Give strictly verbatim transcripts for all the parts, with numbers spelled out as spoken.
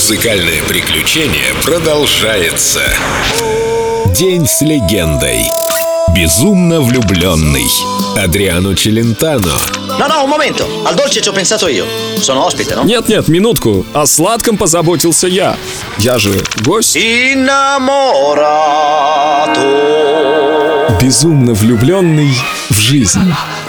музыкальное приключение продолжается. День с легендой. Безумно влюбленный. Адриано Челентано. No, no, un momento. Al dolce ci ho pensato io. Sono ospite, no? Нет-нет, минутку. О сладком позаботился я. Я же гость. Innamorato. Безумно влюбленный в жизнь.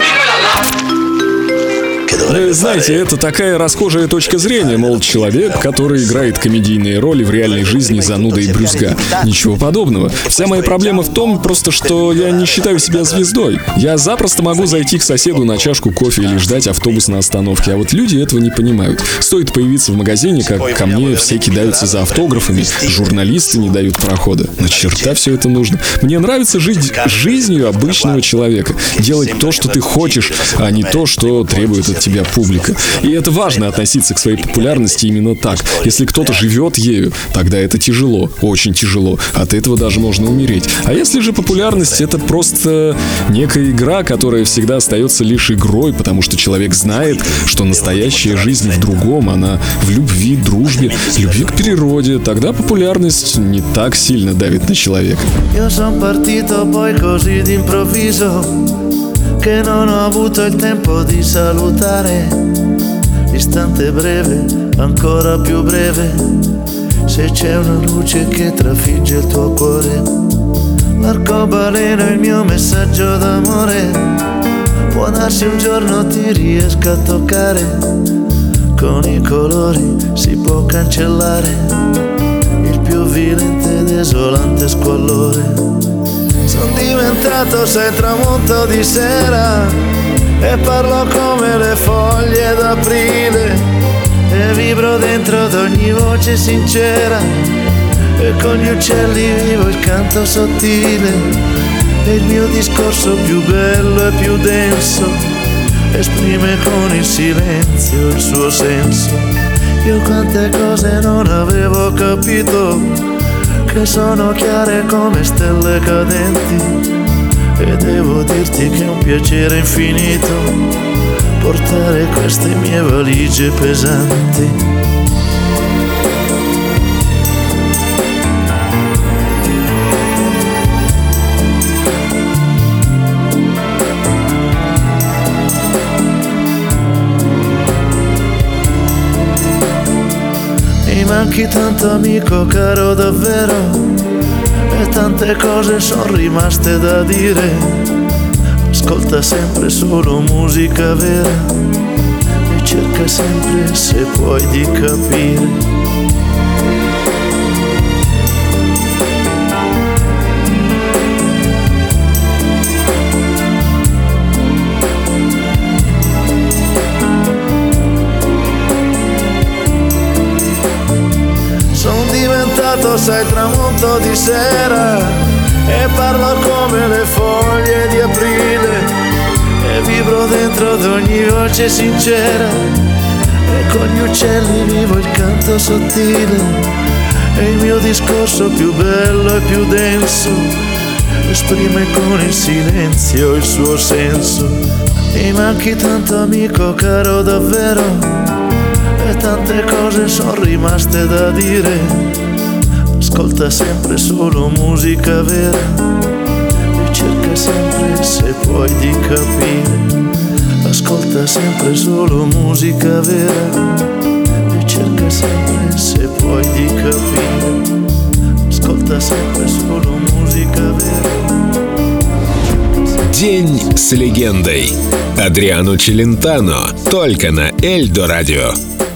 Вы знаете, это такая расхожая точка зрения, мол, человек, который играет комедийные роли в реальной жизни зануда и брюзга. Ничего подобного. Вся моя проблема в том, просто что я не считаю себя звездой. Я запросто могу зайти к соседу на чашку кофе или ждать автобус на остановке, а вот люди этого не понимают. Стоит появиться в магазине, как ко мне все кидаются за автографами, журналисты не дают прохода. На черта все это нужно? Мне нравится жить жизнью обычного человека, делать то, что ты хочешь, а не то, что требует от тебя публика. И это важно, относиться к своей популярности именно так. Если кто-то живет ею, тогда это тяжело, очень тяжело. От этого даже можно умереть. А если же популярность — это просто некая игра, которая всегда остается лишь игрой, потому что человек знает, что настоящая жизнь в другом, она в любви, дружбе, любви к природе, тогда популярность не так сильно давит на человека. Che non ho avuto il tempo di salutare, l'istante breve, ancora più breve, se c'è una luce che trafigge il tuo cuore, l'arcobaleno è il mio messaggio d'amore, può darsi un giorno ti riesca a toccare, con i colori si può cancellare il più violento e desolante squallore. Sono diventato, sai, tramonto di sera e parlo come le foglie d'aprile e vibro dentro ad ogni voce sincera e con gli uccelli vivo il canto sottile e il mio discorso più bello e più denso esprime con il silenzio il suo senso. Io quante cose non avevo capito, che sono chiare come stelle cadenti, e devo dirti che è un piacere infinito portare queste mie valigie pesanti. Mi manchi tanto, amico caro, davvero, e tante cose sono rimaste da dire. Ascolta sempre solo musica vera e cerca sempre, se puoi, di capire. Sai, tramonto di sera e parlo come le foglie di aprile e vibro dentro ad ogni voce sincera e con gli uccelli vivo il canto sottile e il mio discorso più bello e più denso esprime con il silenzio il suo senso. Mi manchi tanto, amico caro, davvero, e tante cose sono rimaste da dire. Ascolta sempre solo musica vera e cerca sempre, se puoi, di capire. Ascolta sempre solo musica vera e cerca sempre, se puoi, di capire. Ascolta sempre solo musica vera. День с легендой. Адриано Челентано. Только на Эльдо Радио.